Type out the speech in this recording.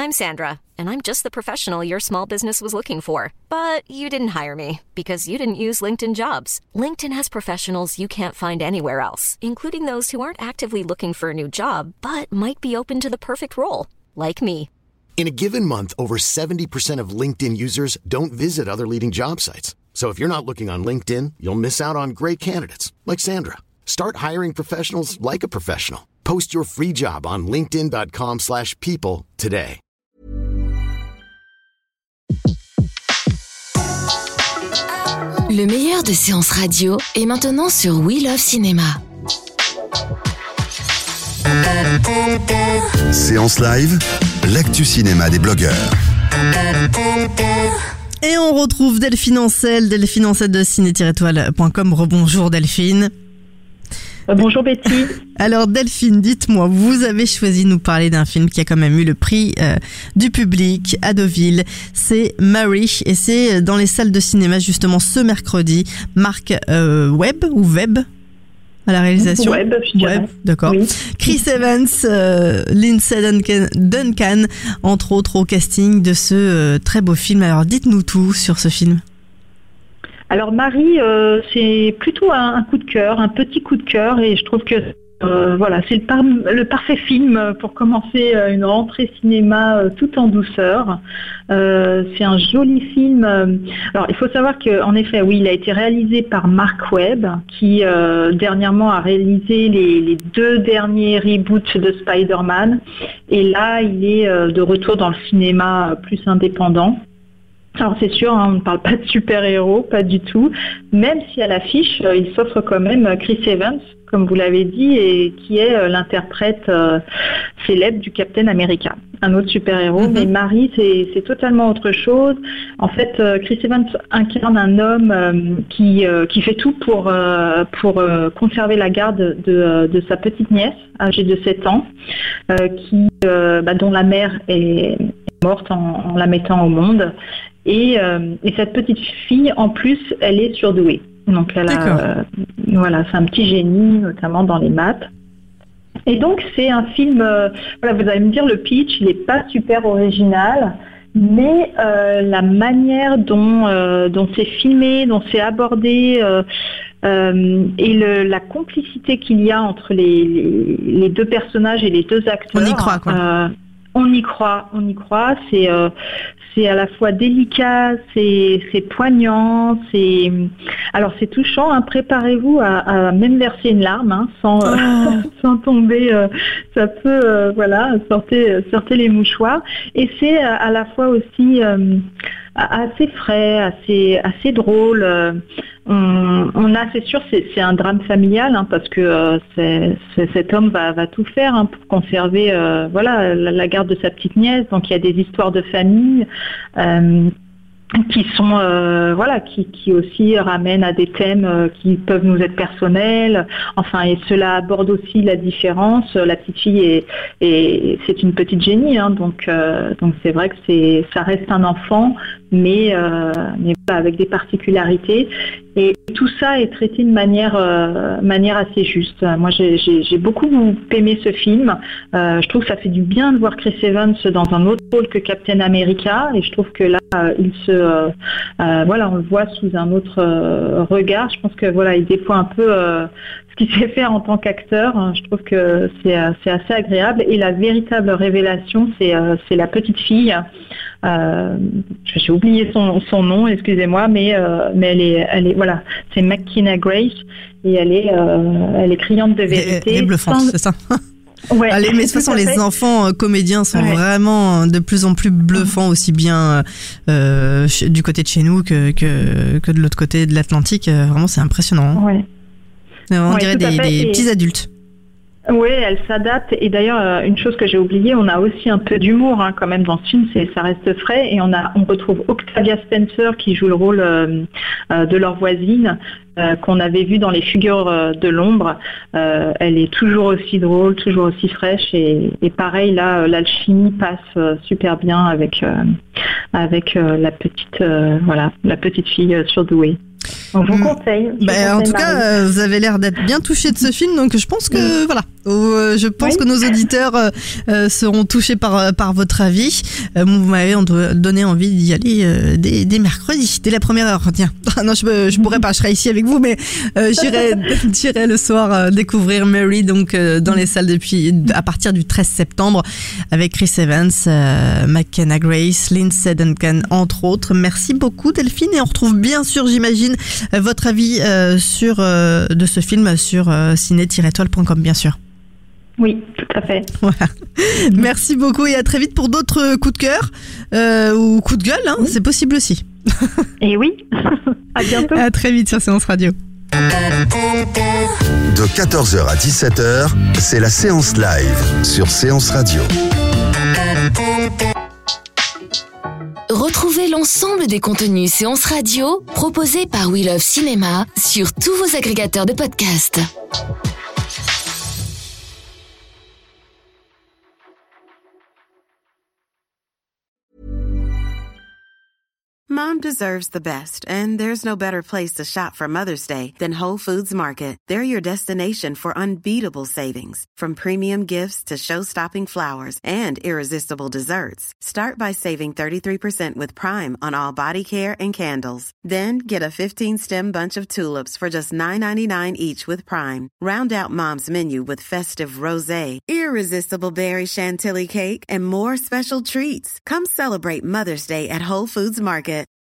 I'm Sandra, and I'm just the professional your small business was looking for. But you didn't hire me because you didn't use LinkedIn Jobs. LinkedIn has professionals you can't find anywhere else, including those who aren't actively looking for a new job, but might be open to the perfect role, like me. In a given month, over 70% of LinkedIn users don't visit other leading job sites. So if you're not looking on LinkedIn, you'll miss out on great candidates like Sandra. Start hiring professionals like a professional. Post your free job on linkedin.com/people today. Le meilleur de séances radio est maintenant sur We Love Cinéma. Séance live, l'actu cinéma des blogueurs. Et on retrouve Delphine Ancel de ciné-toile.com. Rebonjour Delphine. Bonjour Betty. Alors Delphine, dites-moi, vous avez choisi de nous parler d'un film qui a quand même eu le prix du public à Deauville. C'est Mary et c'est dans les salles de cinéma justement ce mercredi. Marc Webb ou Webb à la réalisation. Webb, je dirais. Webb, d'accord. Oui. Chris Evans, Lindsay Duncan, entre autres au casting de ce très beau film. Alors dites-nous tout sur ce film. Alors Marie, c'est plutôt un coup de cœur, un petit coup de cœur, et je trouve que c'est le parfait film pour commencer une rentrée cinéma tout en douceur. C'est un joli film. Alors il faut savoir qu'en effet, oui, il a été réalisé par Marc Webb, qui dernièrement a réalisé les 2 derniers reboots de Spider-Man, et là il est de retour dans le cinéma plus indépendant. Alors c'est sûr, on ne parle pas de super-héros, pas du tout, même si à l'affiche, il s'offre quand même Chris Evans, comme vous l'avez dit, et qui est l'interprète célèbre du Captain America, un autre super-héros. Mais Marie, c'est totalement autre chose. En fait, Chris Evans incarne un homme qui fait tout pour conserver la garde de sa petite nièce, âgée de 7 ans, dont la mère est morte en la mettant au monde. Et cette petite fille, en plus, elle est surdouée. Donc elle a, c'est un petit génie, notamment dans les maths. Et donc c'est un film, vous allez me dire, le pitch, il n'est pas super original, mais la manière dont c'est filmé, dont c'est abordé, et la complicité qu'il y a entre les 2 personnages et les 2 acteurs. On y croit, quoi. On y croit. C'est à la fois délicat, c'est poignant, c'est touchant. Hein. Préparez-vous à même verser une larme, sans tomber. Ça peut, sortez les mouchoirs. Et c'est à la fois aussi assez frais, assez drôle. C'est sûr, c'est un drame familial, parce que cet homme va tout faire pour conserver la garde de sa petite nièce. Donc il y a des histoires de famille qui sont qui aussi ramènent à des thèmes qui peuvent nous être personnels. Et cela aborde aussi la différence. La petite fille c'est une petite génie, donc c'est vrai que ça reste un enfant, mais avec des particularités. Et tout ça est traité de manière assez juste. Moi, j'ai beaucoup aimé ce film. Je trouve que ça fait du bien de voir Chris Evans dans un autre rôle que Captain America, et je trouve que là, on le voit sous un autre regard. Je pense que il déploie un peu ce qu'il sait faire en tant qu'acteur. Je trouve que c'est assez agréable. Et la véritable révélation, c'est la petite fille. J'ai oublié son nom, excusez-moi, mais elle est c'est McKenna Grace, et elle est criante de vérité. Elle est bluffante, c'est ça. Ouais, mais de toute façon, les enfants comédiens sont vraiment de plus en plus bluffants, aussi bien du côté de chez nous que de l'autre côté de l'Atlantique. Vraiment, c'est impressionnant. Ouais. On dirait des petits adultes. Oui, elle s'adapte. Et d'ailleurs, une chose que j'ai oubliée, on a aussi un peu d'humour quand même dans ce film. Ça reste frais. Et on retrouve Octavia Spencer qui joue le rôle de leur voisine, qu'on avait vu dans Les Figures de l'ombre. Elle est toujours aussi drôle, toujours aussi fraîche. Et pareil, là, l'alchimie passe super bien avec la petite fille surdouée. On vous conseille. En tout cas, vous avez l'air d'être bien touché de ce film, donc je pense que voilà. Je pense que nos auditeurs seront touchés par votre avis. Vous m'avez donné envie d'y aller dès mercredi, dès la première heure. Tiens, non, je pourrais pas, je serai ici avec vous, mais j'irai le soir découvrir Mary, donc dans les salles à partir du 13 septembre, avec Chris Evans, McKenna Grace, Lindsay Duncan, entre autres. Merci beaucoup Delphine, et on retrouve bien sûr, j'imagine, votre avis de ce film sur ciné-étoile.com, bien sûr. Oui, tout à fait. Voilà. Merci beaucoup et à très vite pour d'autres coups de cœur ou coups de gueule, c'est possible aussi. Et oui, à bientôt. À très vite sur Séance Radio. De 14h à 17h, c'est la séance live sur Séance Radio. Retrouvez l'ensemble des contenus Séance Radio proposés par We Love Cinéma sur tous vos agrégateurs de podcasts. Mom deserves the best, and there's no better place to shop for Mother's Day than Whole Foods Market. They're your destination for unbeatable savings, from premium gifts to show-stopping flowers and irresistible desserts. Start by saving 33% with Prime on all body care and candles. Then get a 15-stem bunch of tulips for just $9.99 each with Prime. Round out Mom's menu with festive rosé, irresistible berry chantilly cake, and more special treats. Come celebrate Mother's Day at Whole Foods Market.